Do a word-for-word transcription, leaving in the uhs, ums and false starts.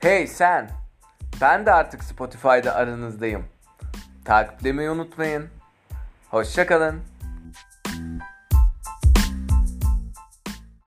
Hey sen! Ben de artık Spotify'da aranızdayım. Takiplemeyi unutmayın. Hoşça kalın.